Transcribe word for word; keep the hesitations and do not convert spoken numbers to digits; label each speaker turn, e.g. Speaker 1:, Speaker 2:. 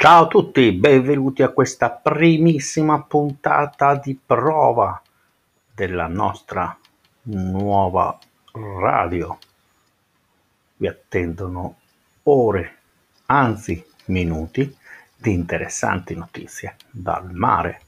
Speaker 1: Ciao a tutti, benvenuti a questa primissima puntata di prova della nostra nuova radio. Vi attendono ore, anzi minuti, di interessanti notizie dal mare.